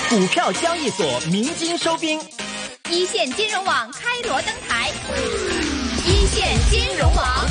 股票交易所鸣金收兵， 一线金融网开锣登台，一线金融网。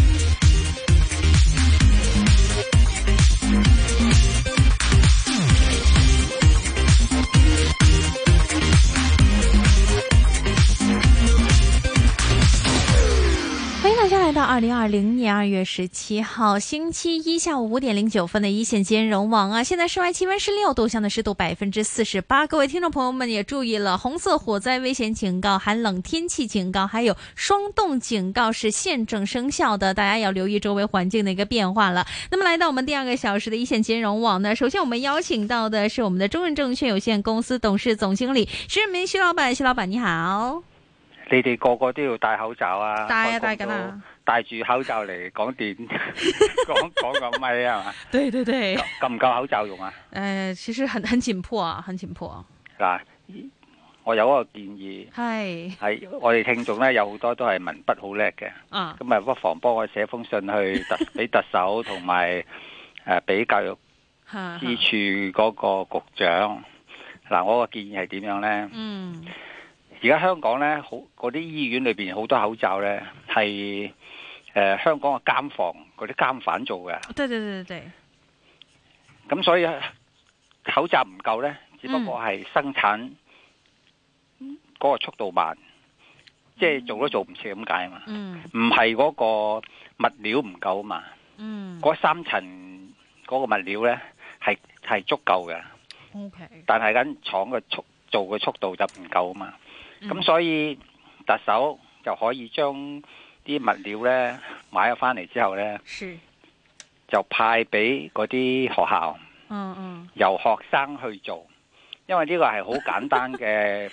欢迎大家来到2020年2月17号星期一下午5點09分的一線金融網啊！現在室外氣溫是6度，相對濕度48%。各位聽眾朋友們也注意了，紅色火災危險警告、寒冷天氣警告，還有霜凍警告是現正生效的，大家要留意周圍環境的一個變化了。那麼來到我們第2個小時的一線金融網呢，首先我們邀請到的是我們的中潤證券有限公司董事總經理徐潤民徐老闆，徐老闆你好。 你哋個個都要戴口罩啊！ 戴啊，戴緊啊！ 戴住口罩嚟講電，講個咪啊嘛！ 對對對， 夠唔夠口罩用啊？ 其實很緊迫啊，很緊迫。 嗱，我有一個建議，係我哋聽眾咧有好多都係文筆好叻嘅，咁啊不妨幫我寫封信去俾特首同埋俾教育支處嗰個局長。嗱，我個建議係點樣咧？而家香港咧，好嗰啲醫院裏邊好多口罩咧，係香港嘅監房嗰啲監犯做嘅。對。咁所以口罩唔夠咧，只不過係生產嗰個速度慢，即係做都做唔切咁解啊嘛。唔係嗰個物料唔夠啊嘛。嗰3層嗰個物料咧係足夠嘅。但係間廠嘅做嘅速度就唔夠啊嘛。咁所以特首就可以將啲物料咧買咗翻嚟之後咧，就派俾嗰啲學校，由學生去做，因為呢個係好簡單嘅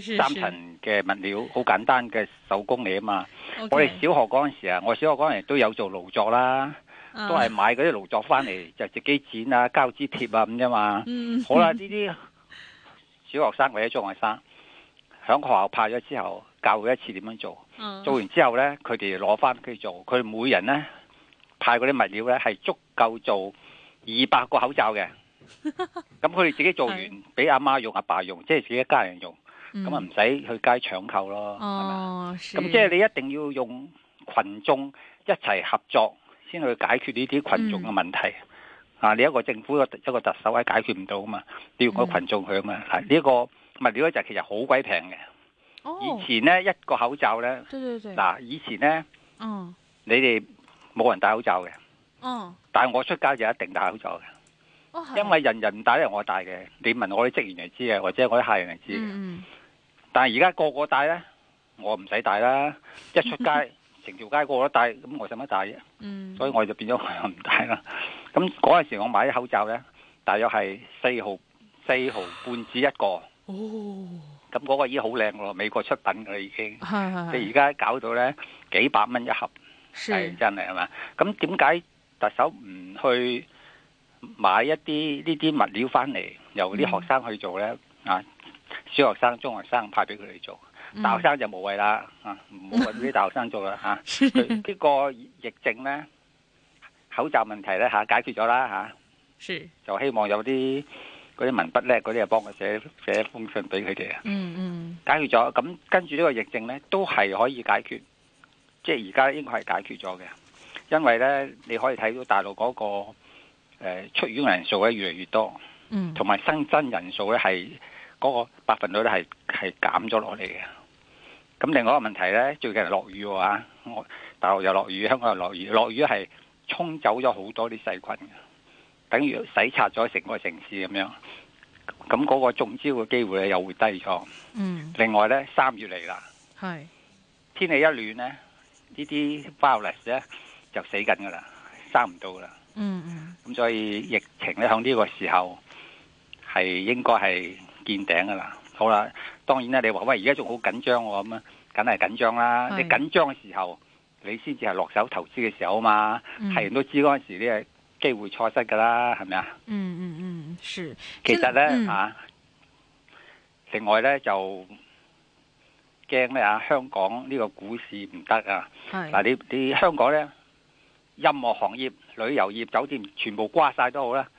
3層嘅物料，好簡單嘅手工嚟啊嘛。我哋小學嗰陣時啊，我小學嗰陣時都有做勞作啦，都係買嗰啲勞作翻嚟就自己剪啊、膠紙貼啊咁啫嘛。好啦，呢啲小學生或者中學生，響學校派咗之後，教佢一次點樣做，做完之後呢，佢哋攞翻去做，佢每人呢派嗰啲物料呢係足夠做200個口罩嘅。咁佢哋自己做完，俾阿媽用、阿爸用，即係自己一家人用，咁啊唔使去街搶購咯。咁即係你一定要用群眾一齊合作，先去解決呢啲群眾嘅問題。你一個政府一個特首係解決唔到啊嘛，你要個群眾去啊嘛。呢個物料就其實好鬼平嘅。以前呢，一個口罩呢，嗱以前呢，你哋冇人戴口罩嘅，但係我出街就一定戴口罩嘅，因為人人唔戴咧，我戴嘅。你問我啲職員就知嘅，或者我啲客人就知嘅。但係而家個個戴呢，我唔使戴啦，一出街成條街個個都戴，咁我使乜戴啫？所以我就變咗我唔戴啦。咁嗰陣時我買啲口罩呢，大約係4毫半紙一個。咁嗰個已經好靚咯，美國出品噶啦已經。你而家搞到呢幾百蚊一盒，係真係嘛？咁點解特首唔去買一啲呢啲物料翻嚟，由啲學生去做呢？小學生、中學生派俾佢哋做，大學生就無謂啦，唔好揾啲大學生做啦嚇。呢個疫症呢，口罩問題呢解決咗啦嚇，就希望有啲嗰啲文筆叻嗰啲啊，幫我寫封信俾佢哋啊。解決咗，咁跟住呢個疫症呢，都係可以解決，即係而家應該係解決咗嘅。因為呢，你可以睇到大陸嗰個出院人數咧越嚟越多，同埋新增人數咧係嗰個百分率咧係減咗落嚟嘅。咁另外一個問題呢，最近落雨喎，大陸又落雨，香港又落雨，落雨係沖走咗好多啲細菌嘅，等於洗刷咗成個城市咁樣。咁嗰個中招嘅機會咧又會低咗。另外呢，3月嚟啦，天氣一暖呢，呢啲 virus 咧就死緊噶啦，生唔到噶啦。咁所以疫情咧響呢個時候係應該係見頂噶啦。好啦，當然啦，你話喂而家仲好緊張喎，咁啊，梗係緊張啦。你緊張嘅時候，你先至係落手投資嘅時候啊嘛。係人都知嗰陣時呢機會錯失噶啦，係咪啊？ 是。 其實呢，另外呢，就驚呢香港呢個股市唔得啊。嗱，你香港呢，任何行業、旅遊業、酒店全部瓜晒都好啦，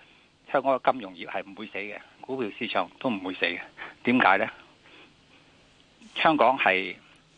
香港嘅金融業係唔會死嘅，股票市場都唔會死嘅。點解呢？香港係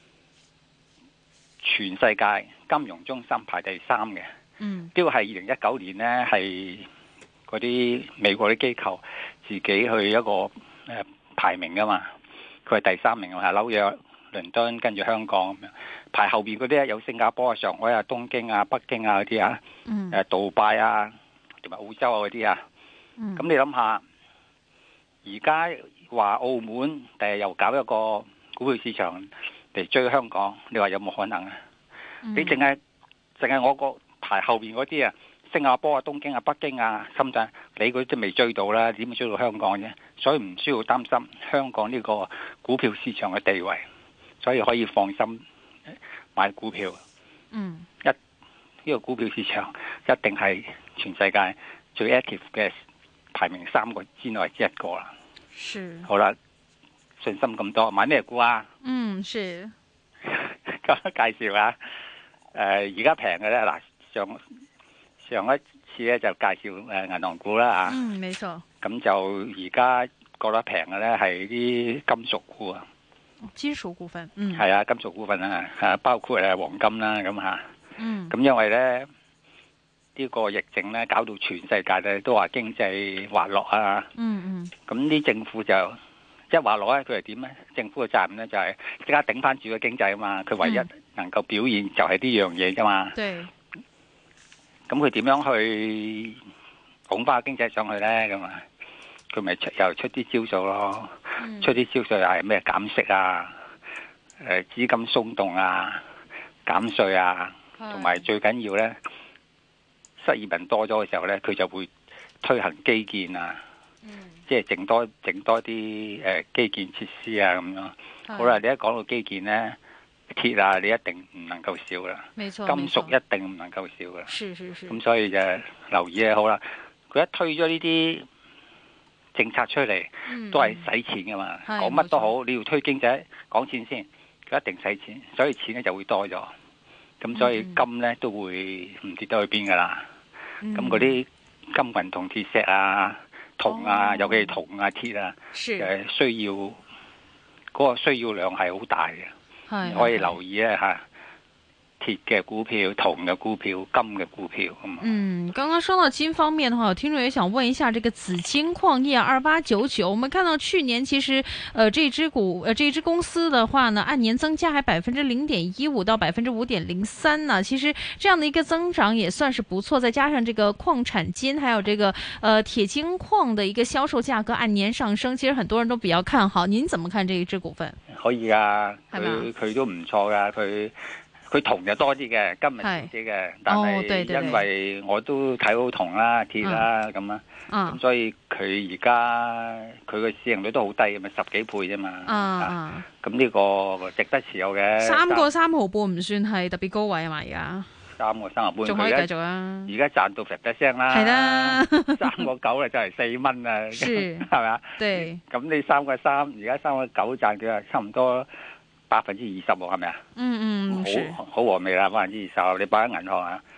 全世界金融中心排第3嘅。呢個係2019年呢，係嗰啲美國啲機構自己去一個排名噶嘛。佢係第3名啊，紐約、倫敦跟住香港咁樣。排後邊嗰啲有新加坡啊、上海啊、東京啊、北京啊嗰啲啊，杜拜啊，同埋澳洲啊嗰啲啊。咁你諗下，而家話澳門第日又搞一個股票市場嚟追香港，你話有冇可能啊？你淨係我個排後邊嗰啲啊，新加坡啊、東京啊、北京啊、深圳，你嗰啲都未追到啦，點會追到香港啫？所以唔需要擔心香港呢個股票市場嘅地位，所以可以放心買股票。呢個股票市場一定係全世界最 active 嘅，排名3個之內之一個啦。 是。 好啦，信心咁多，買咩股啊？ 是。 咁介紹下。而家平嘅咧，嗱，上一次咧就介紹銀行股啦啊。 沒錯。咁就而家覺得平嘅咧係啲金屬股啊。 金屬股份。 係啊，金屬股份啊，包括黃金啦咁嚇。咁因為咧呢個疫症咧搞到全世界咧都話經濟滑落啊。咁啲政府就一滑落咧，佢係點咧？政府嘅責任咧就係即刻頂翻住個經濟啊嘛。佢唯一能夠表現就係呢樣嘢啫嘛。對。咁佢點樣去拱翻經濟上去咧？咁啊，佢咪又出啲招數咯。出啲招數又係咩減息啊？資金鬆動啊？減稅啊？同埋最緊要咧，失業人多咗嘅時候咧，佢就會推行基建啊。即係整多啲基建設施啊咁樣。好啦，你一講到基建咧，鐵啊，你一定唔能夠少啦。金屬一定唔能夠少噶。咁所以就留意咧，好啦，佢一推咗呢啲政策出嚟，都係使錢噶嘛。講乜都好，你要推經濟，講錢先，佢一定使錢，所以錢咧就會多咗。咁所以金咧都會唔跌得去邊噶啦。咁嗰啲金銀銅鐵石啊、銅啊，尤其係銅啊、鐵啊，需要嗰個需要量係好大嘅，可以留意一下鐵嘅股票、銅嘅股票、金嘅股票。 剛剛說到金方面的話，有聽眾也想問一下，這個紫金礦業2899，我們看到去年其實，這支公司的話呢，按年增加還0.15%到5.03%呢，其實這樣的一個增長也算是不錯，再加上這個礦產金，還有這個鐵金礦的一個銷售價格按年上升，其實很多人都比較看好。您怎麼看這一支股份？ 可以啊，佢都唔錯噶，佢銅就多啲嘅，金係少啲嘅，但係因為我都睇好銅啦、鐵啦咁啊，咁所以佢而家佢個市盈率都好低，咪10幾倍啫嘛。咁呢個值得持有嘅。 3個3毫半唔算係特別高位啊嘛，而家。 3個3毫半， 仲可以繼續啊！ 而家賺到50%啦。係啦，3個9就係4蚊啊，係咪啊？對。咁你3個3，而家3個9賺佢啊，差唔多20%喎，係咪啊？好和味啦，20%，你擺喺銀行啊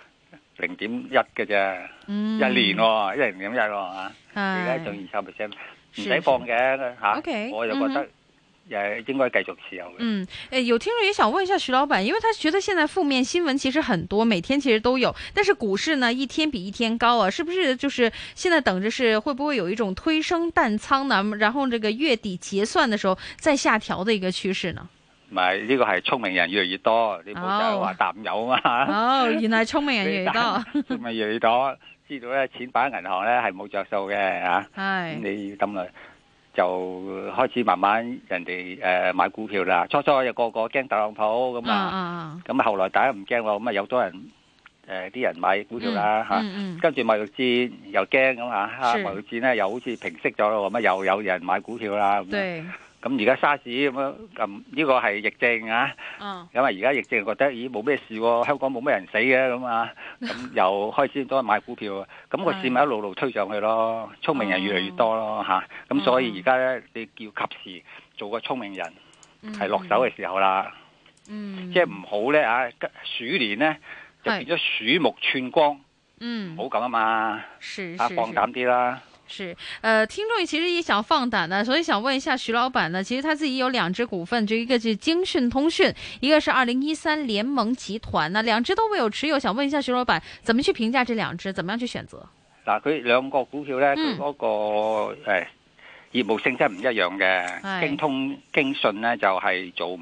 ，0.1嘅啫，一年喎，0.1喎，而家仲20%，唔使放嘅吓，我就覺得應該繼續持有嘅。 有聽眾也想問一下徐老闆，因為他覺得現在負面新聞其實很多，每天其實都有，但是股市呢一天比一天高啊，是不是就是現在等着是會不會有一種推升淡倉呢？然後這個月底結算的時候再下調的一個趨勢呢？ 唔係，呢個係聰明人越嚟越多，你冇就係話淡友啊嘛。 原來聰明人越嚟越多， 聰明人越嚟越多，知道咧錢擺喺銀行咧係冇着數嘅嚇。係，你要咁啦，就開始慢慢人哋買股票啦。初初有個驚特朗普咁啊，咁啊後來大家唔驚喎，咁啊有多人啲人買股票啦嚇。跟住貿易戰又驚咁啊，貿易戰咧又好似平息咗咯，咁啊又有人買股票啦。對。咁而家沙士咁樣，呢個係疫症啊，咁啊而家疫症覺得咦冇咩事喎，香港冇咩人死嘅咁啊，咁又開始多人買股票，咁個市咪一路路推上去咯，聰明人越嚟越多咯嚇，咁所以而家咧你要及時做個聰明人，係落手嘅時候啦，即係唔好咧啊鼠年咧就變咗鼠目寸光，唔好咁啊嘛，放膽啲啦。 是，聽眾其實也想放膽呢，所以想問一下徐老闆呢，其實他自己有兩隻股份，這一個是京訊通訊，一個是2013聯盟集團，呢兩隻都未有持有，想問一下徐老闆，怎麼去評價這兩隻，怎麼樣去選擇？ 嗱，佢兩個股票呢，佢嗰個業務性質唔一樣嘅，京訊呢就係做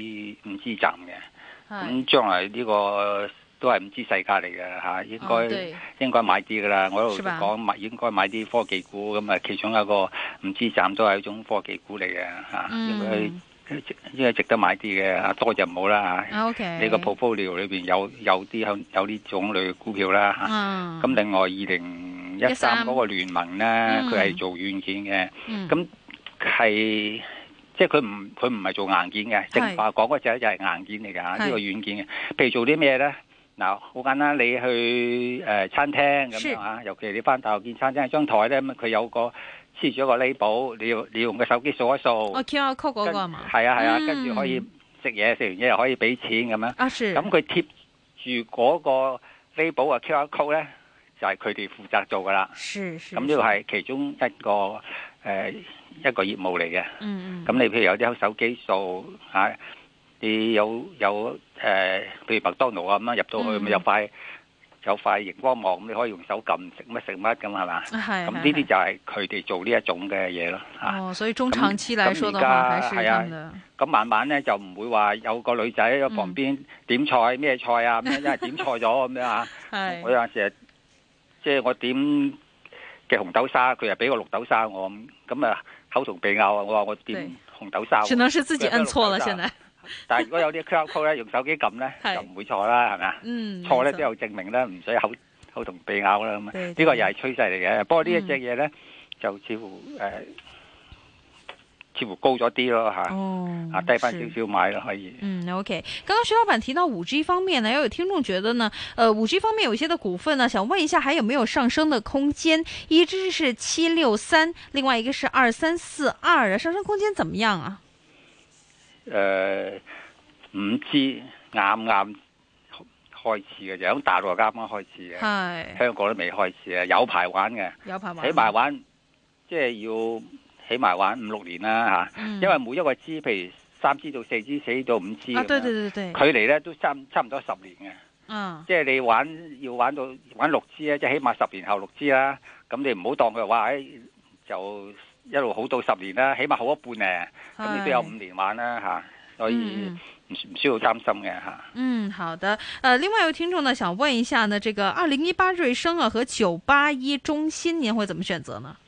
5G站嘅，咁將來呢個都係5G世界嚟嘅嚇，應該買啲噶啦。我喺度講應該買啲科技股，咁啊其中一個5G站都係一種科技股嚟嘅嚇，應該值得買啲嘅，多就唔好啦嚇。你個 portfolio 裏邊有啲種類股票啦嚇。咁另外2013嗰個聯盟咧，佢係做軟件嘅，咁係即係佢唔係做硬件嘅，正話講嗰隻就係硬件嚟㗎嚇，呢個軟件嘅。譬如做啲咩咧？嗱，好簡單，你去餐廳咁樣啊，尤其你翻大陸見餐廳張台咧，咁佢有個黐住一個 label，你用個手機掃一掃。QR code 嗰個係嘛？係啊，跟住可以食完嘢又可以俾錢咁樣。咁佢貼住嗰個 label 啊 QR code 咧，就係佢哋負責做噶啦。咁呢個係其中一個業務嚟嘅。咁你譬如有啲手機掃啊。你有譬如麥當勞啊咁樣入到去，咪有塊熒光幕，咁你可以用手撳食乜咁係嘛？咁呢啲就係佢哋做呢一種嘅嘢咯。哦， 所以中長期嚟說的話，還是咁嘅。 咁慢慢咧就唔會話有個女仔喺旁邊點菜咩菜啊咁樣，因為點錯咗咁樣啊。我有陣時即係我點嘅紅豆沙，佢又俾個綠豆沙我，咁啊口同鼻拗啊！我話我點紅豆沙。 只能是自己摁錯了，現在。 但係如果有啲 QR code 咧，用手機撳咧就唔會錯啦，係咪啊？錯咧都有證明咧，唔使口同鼻拗啦咁啊！呢個又係趨勢嚟嘅。不過呢一隻嘢咧就似乎高咗啲咯嚇，低翻少少買咯可以。 OK。剛剛徐老闆提到5G 方面呢，有聽眾覺得呢，5G 方面有一些的股份呢，想問一下，還有沒有上升的空間？一隻是763，另外一個是2342，上升空間怎麼樣啊 ？5G 啱開始嘅，就喺大陸啱啱開始嘅，香港都未開始啊，有排玩嘅，起碼玩即係要起碼玩5-6年啦嚇，因為每一個 G， 譬如3G 到4G、4G 到5G，距離咧都差唔多10年嘅，即係你要玩 6G 咧，即係起碼10年後6G啦，咁你唔好當佢話就一路好到10年啦，起碼好一半咧，咁你都有5年玩啦嚇，所以唔需要擔心嘅嚇。 好的。另外有聽眾呢想問一下呢，這個2018瑞聲啊和981中芯，您會怎麼選擇呢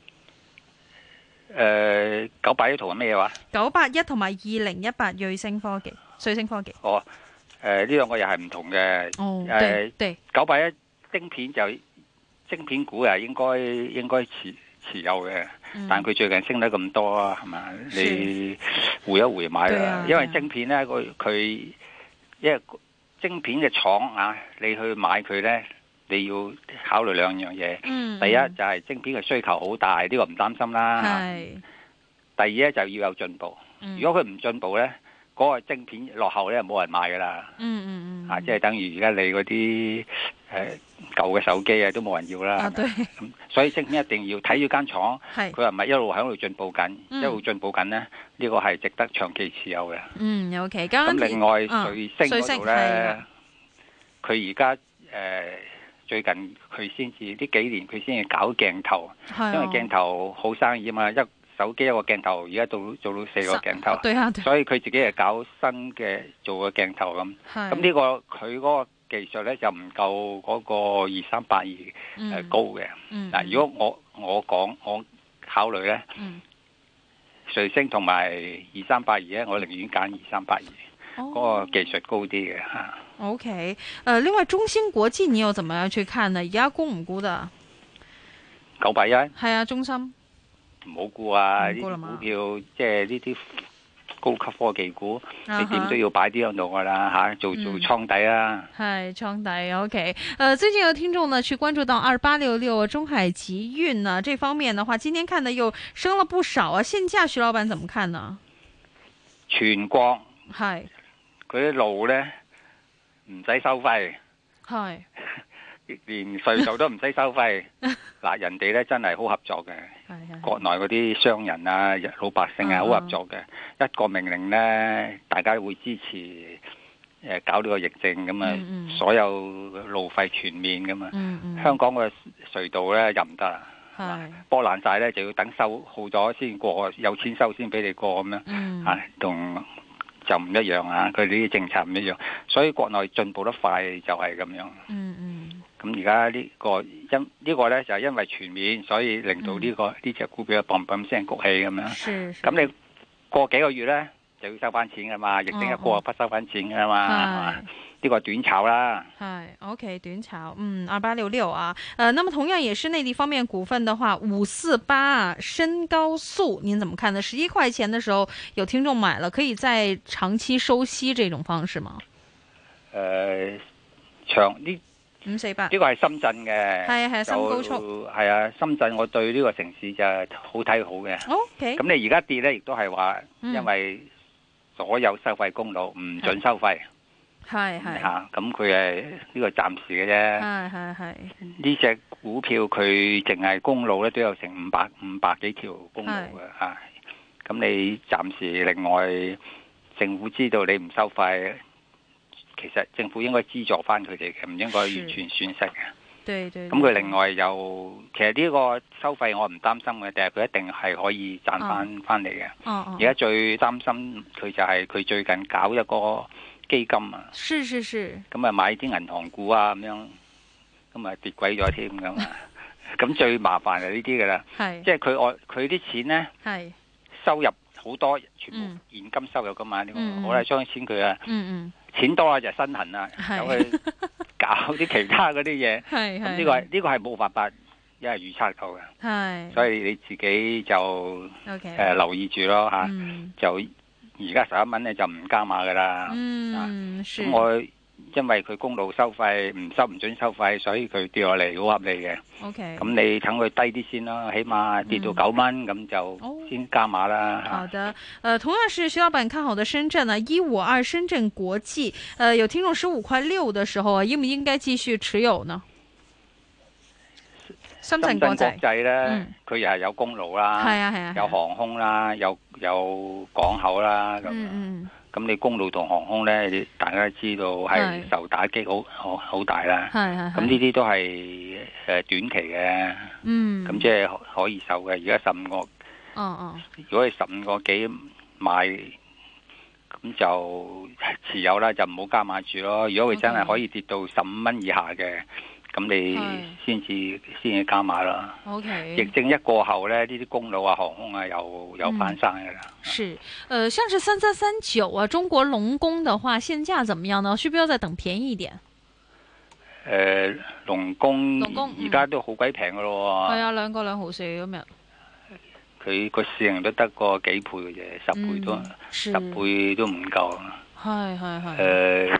？981同埋咩話 ？981同埋2018瑞聲科技。 哦，呢兩個又係唔同嘅。 對。 981晶片股啊，應該持有嘅，但佢最近升得咁多啊，係嘛？你回一回買啦，因為晶片咧，因為晶片嘅廠啊，你去買佢咧，你要考慮兩樣嘢。第一就係晶片嘅需求好大，呢個唔擔心啦。第二咧就要有進步。如果佢唔進步咧，嗰個晶片落後咧，冇人買噶啦。即係等於而家你嗰啲舊嘅手機啊，都冇人要啦。咁所以晶片一定要睇住間廠，佢係咪一路喺度進步緊，一路進步緊呢？呢個係值得長期持有嘅。 OK。 咁另外瑞聲嗰度咧，佢而家最近佢先至呢幾年佢先至搞鏡頭，因為鏡頭好生意啊嘛，手機一個鏡頭，而家做到4個鏡頭，所以佢自己係搞新嘅做個鏡頭咁。咁呢個佢嗰個技術咧就唔夠嗰個2382高嘅。嗱，如果我考慮咧，瑞聲同埋2382咧，我寧願揀2382，嗰個技術高啲嘅嚇。 OK，另外中芯國際你又怎麼樣去看呢？而家沽唔沽的 ？981 係啊，中芯。 唔好估啊！呢啲股票即係呢啲高級科技股，你點都要擺啲喺度噶啦嚇，做倉底啦。 係倉底 OK。最近有聽眾呢去關注到2866中海集運呢，這方面的話，今天看呢又升了不少啊。現價徐老闆怎麼看呢？ 全國係佢啲路咧唔使收費，係連隧道都唔使收費。嗱，人哋咧真係好合作嘅，國內嗰啲商人啊、老百姓啊好合作嘅，一個命令咧，大家會支持。搞呢個疫症咁啊，所有路費全免咁啊。香港嘅隧道咧又唔得啦，波爛晒咧就要等收好咗先過，有錢收先俾你過咁樣。同就唔一樣啊，佢哋啲政策唔一樣，所以國內進步得快就係咁樣。咁而家呢個呢個咧就係因為全面，所以令到呢隻股票砰砰聲谷起咁樣。咁你過幾個月咧？就要收翻錢噶嘛，疫情一過不收翻錢噶嘛，呢個短炒啦。 係 OK 短炒，2866啊，那麼同樣也是內地方面股份的話，548深高速，您怎麼看呢？11塊錢的時候有聽眾買了，可以再長期收息這種方式嗎？ 長呢 548 呢個係深圳嘅， 係深高速， 係啊，深圳我對呢個城市就好睇好嘅。 OK， 咁你而家跌咧，亦都係話因為。所有收費公路唔准收費，係嚇，咁佢係呢個暫時嘅啫。係呢隻股票佢淨係公路咧都有成五百幾條公路嘅嚇。咁你暫時另外政府知道你唔收費，其實政府應該資助翻佢哋嘅，唔應該完全損失嘅。對，咁佢另外又其實呢個收費我唔擔心嘅，但係佢一定係可以賺翻嚟嘅。而家最擔心佢就係佢最近搞一個基金啊。咁啊買啲銀行股啊咁樣，咁啊跌鬼咗添咁啊。咁最麻煩係呢啲㗎啦，即係佢啲錢咧收入好多，全部現金收入㗎嘛。我係將啲錢佢啊，錢多啦就身痕啦，有去搞啲其他嗰啲嘢，咁呢個係冇辦法一係預測到嘅，所以你自己就留意住咯嚇。就而家11蚊咧就唔加碼噶啦。咁我因為佢公路收費唔准收費，所以佢跌落嚟好合理嘅。咁你等佢低啲先啦，起碼跌到9蚊咁就先加碼啦。 好的，同樣是徐老闆看好的深圳呢，152深圳國際，有聽眾15.6塊的時候啊，應唔應該繼續持有呢？深圳國際咧，佢又係有公路啦，有航空啦，有港口啦咁。咁你公路同航空咧，大家都知道係受打擊好大啦。咁呢啲都係短期嘅。咁即係可以受嘅。而家15個，如果係15個幾買，咁就持有啦，就唔好加碼住咯。如果佢真係可以跌到15蚊以下嘅，咁你先至加碼啦。疫症一過後咧，呢啲公路啊、航空啊又翻生嘅啦。 是，像是3339啊，中國龍工的話，現價怎麼樣呢？需不需要再等便宜一點？ 龍工而家都好鬼平嘅咯。 係啊，2個2毫4今日。 佢個市盈率得個幾倍嘅啫，10倍都10倍都唔夠。係。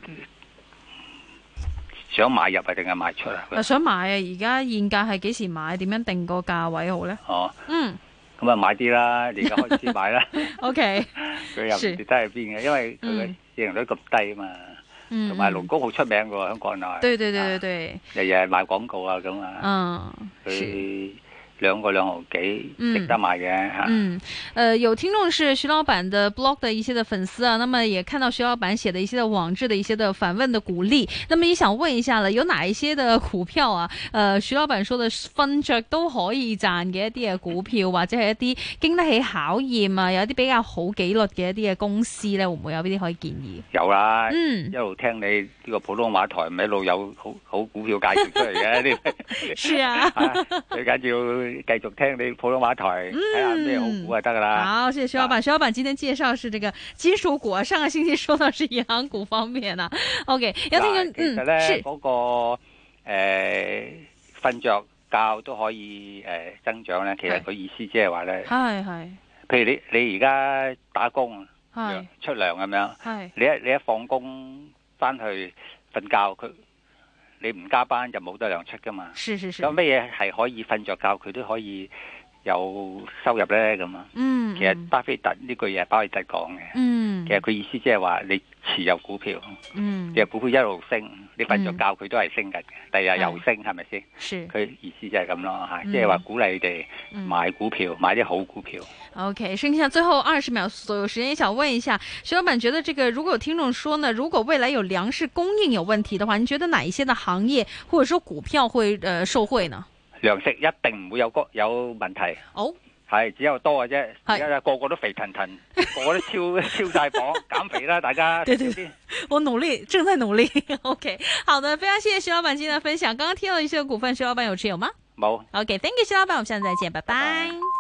想買入啊，定係賣出啊？ 想買啊！而家現價係幾時買？點樣定個價位好咧？ 咁啊買啲啦，你而家開始買啦。 OK， 佢又唔跌得去邊嘅，因為佢嘅市盈率咁低啊嘛。同埋龍工好出名嘅喎，喺國內。對，日日賣廣告啊咁啊。佢2個2毫幾，值得買嘅。 有聽眾是徐老闆的 blog 的一些的粉絲啊，那麼也看到徐老闆寫的一些的網誌的一些的反問的鼓勵，那麼也想問一下了，有哪一些的股票啊？徐老闆說的瞓着都可以賺嘅一啲嘅股票，或者係一啲經得起考驗啊，有一啲比較好紀律嘅一啲嘅公司咧，會唔會有邊啲可以建議？ 有啦，一路聽你呢個普通話台，咪一路有好股票介紹出嚟嘅。 是啊， 最緊要繼續聽你普通話台，睇下咩好股就得噶啦。 好，謝謝徐老闆。徐老闆今天介紹是這個金屬股，上個星期說到是銀行股方面啊。OK，有聽眾其實咧嗰個瞓着覺都可以增長咧。其實佢意思即係話咧，係。譬如你而家打工出糧咁樣，你一放工翻去瞓覺，你唔加班就冇得糧出噶嘛。有咩嘢係可以瞓着覺佢都可以有收入咧咁啊？其實巴菲特呢句嘢係巴菲特講嘅。其實佢意思即係話你持有股票，其實股票一路升。 你瞓咗覺佢都係升緊嘅，第二日又升，係咪先？佢意思就係咁咯嚇，即係話鼓勵你哋買股票，買啲好股票。 OK，剩下最後20秒左右時間，想問一下徐老闆，覺得這個如果有聽眾說呢，如果未來有糧食供應有問題的話，你覺得哪一些的行業或者說股票會受惠呢？糧食一定唔會有問題。 哦。 係只有多嘅啫，而家個個都肥騰騰，個個都超晒磅，減肥啦，大家。 對，我努力，正在努力。OK， 好的，非常謝謝徐老闆今天的分享。剛剛聽到一些股份，徐老闆有持有嗎？ 冇。 OK，thank you，徐老闆，我們下次再見，拜拜。